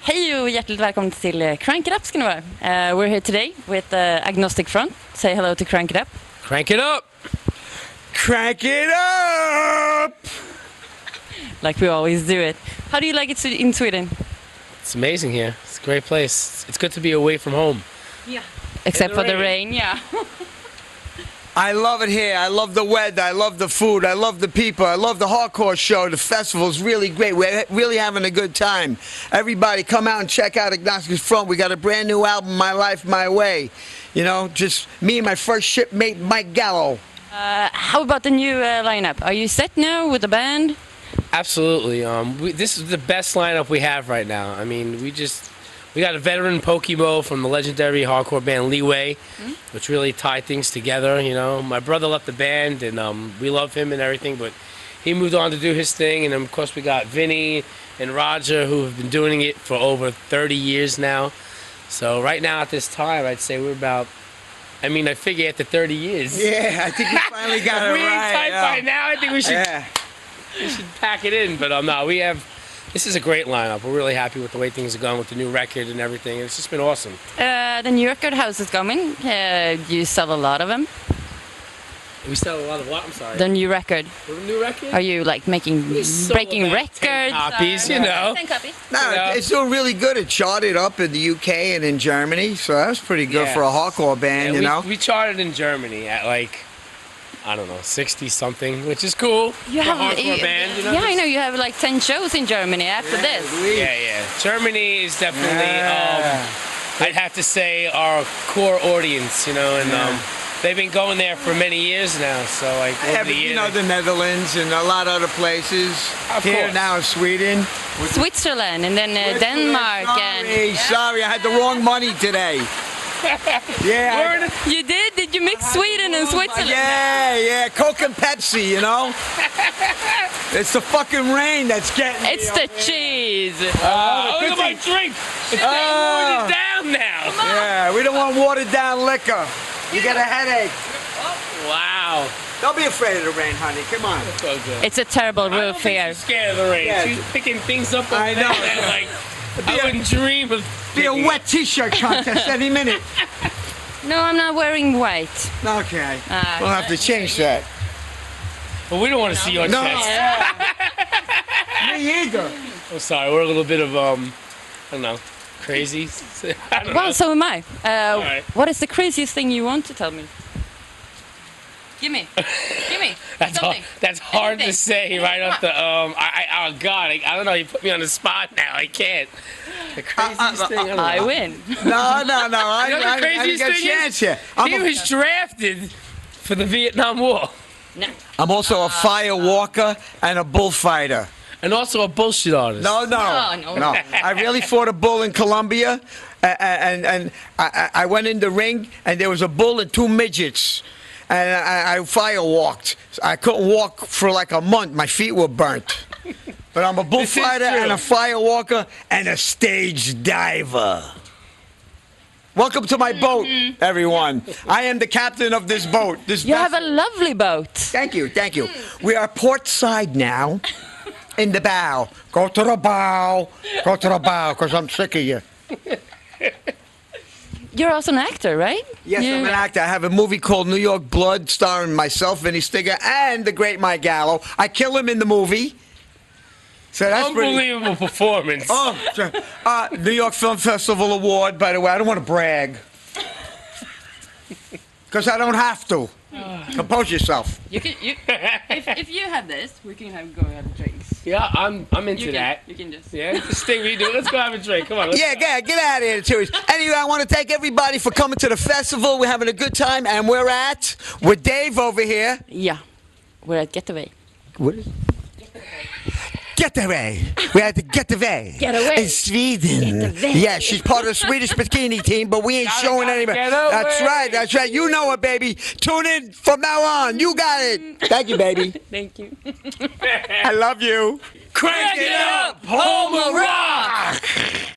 Hej och hjärtligt välkommen till Crank It Up ska ni vara. We're here today with Agnostic Front. Say hello to Crank It Up. Crank it up! Crank it up! Like we always do it. How do you like it in Sweden? It's amazing here. It's a great place. It's good to be away from home. Yeah. Except for the rain, yeah. I love it here. I love the weather. I love the food. I love the people. I love the hardcore show. The festival's really great. We're really having a good time. Everybody come out and check out Agnostic Front. We got a brand new album, My Life, My Way. You know, just me and my first shipmate, Mike Gallo. How about the new lineup? Are you set now with the band? Absolutely. This is the best lineup we have right now. I mean, we got a veteran Pokemo from the legendary hardcore band Leeway, which really tied things together. You know, my brother left the band, and we love him and everything, but he moved on to do his thing. And then, of course, we got Vinny and Roger, who have been doing it for over 30 years now. So right now, at this time, I'd say we're about. I mean, I figure after 30 years. Yeah, I think you finally got it we right. tight by now. I think we should. Yeah. We should pack it in, but no, we have. This is a great lineup. We're really happy with the way things are going with the new record and everything. It's just been awesome. The new record, how's it coming? You sell a lot of them? We sell a lot of what? I'm sorry. The new record. The new record? Are you like breaking records? 10 copies, you know. 10 copies. No, Yeah. it's doing really good. It charted up in the UK and in Germany, so that's pretty good Yeah. for a hardcore band, Yeah, you know? We charted in Germany at like, I don't know, 60 something, which is cool You for a have, hardcore band. You know? yeah, I know you have like 10 shows in Germany after this. Yeah. Germany is definitely, Yeah. I'd have to say, our core audience, you know, and they've been going there for many years now, so like Yeah, over but the you years. know, the Netherlands and a lot of other places. Of Here course. now in Sweden. Switzerland and then Denmark Sorry, I had the wrong money today. Yeah. You did? Did you mix Sweden and Switzerland? Yeah, Coke and Pepsi, you know? It's the fucking rain that's getting me. It's the cheese. Look at my drink! It's watered down now! Yeah, we don't want watered down liquor. You get a headache. Wow. Don't be afraid of the rain, honey. Come on. So good. It's a terrible I don't roof think here. she's scared of the rain. Yeah. She's picking things up. I know. Like, I wouldn't dream of. Be a picking- wet t-shirt contest any minute. No, I'm not wearing white. Okay. We'll have to change that. But we don't want to see your No. chest. Me either. I'm sorry. We're a little bit of I don't know, crazy. I don't Well, know. so am I. right. What is the craziest thing you want to tell me? Give me. That's hard to Anything. say right off the. Oh God, I don't know. You put me on the spot now. I can't. The craziest thing. I don't know. I win. No. You know the I didn't craziest get a thing chance is? here. He was drafted for the Vietnam War, No. I'm also a fire walker and a bullfighter. and also a bullshit artist. No. No. I really fought a bull in Colombia, and I went in the ring, and there was a bull and two midgets, and I fire walked. I couldn't walk for like a month. My feet were burnt. But I'm a bullfighter true. and a fire walker and a stage diver. Welcome to my boat, everyone. I am the captain of this boat. You have a lovely boat. Thank you. We are port side now, in the bow. Go to the bow, because I'm sick of you. You're also an actor, right? Yes, I'm an actor. I have a movie called New York Blood, starring myself, Vinny Stigger, and the great Mike Gallo. I kill him in the movie. So that's pretty... Unbelievable performance. Oh, sure. New York Film Festival Award, by the way. I don't want to brag. Because I don't have to. Compose yourself. You can. If you have this, we can go have drinks. Yeah, I'm into that. You can just. Yeah, this thing we do. Let's go have a drink. Come on. Let's Yeah, get out of here, Terry. Anyway, I want to thank everybody for coming to the festival. We're having a good time, and we're with Dave over here. Yeah. We're at Getaway. What is Getaway. We had to get away. Get away. In Sweden. Get away. Yeah, she's part of the Swedish bikini team, but we ain't showing anybody. get away. That's right. You know it, baby. Tune in from now on. You got it. Thank you, baby. Thank you. I love you. crank it up, home of rock.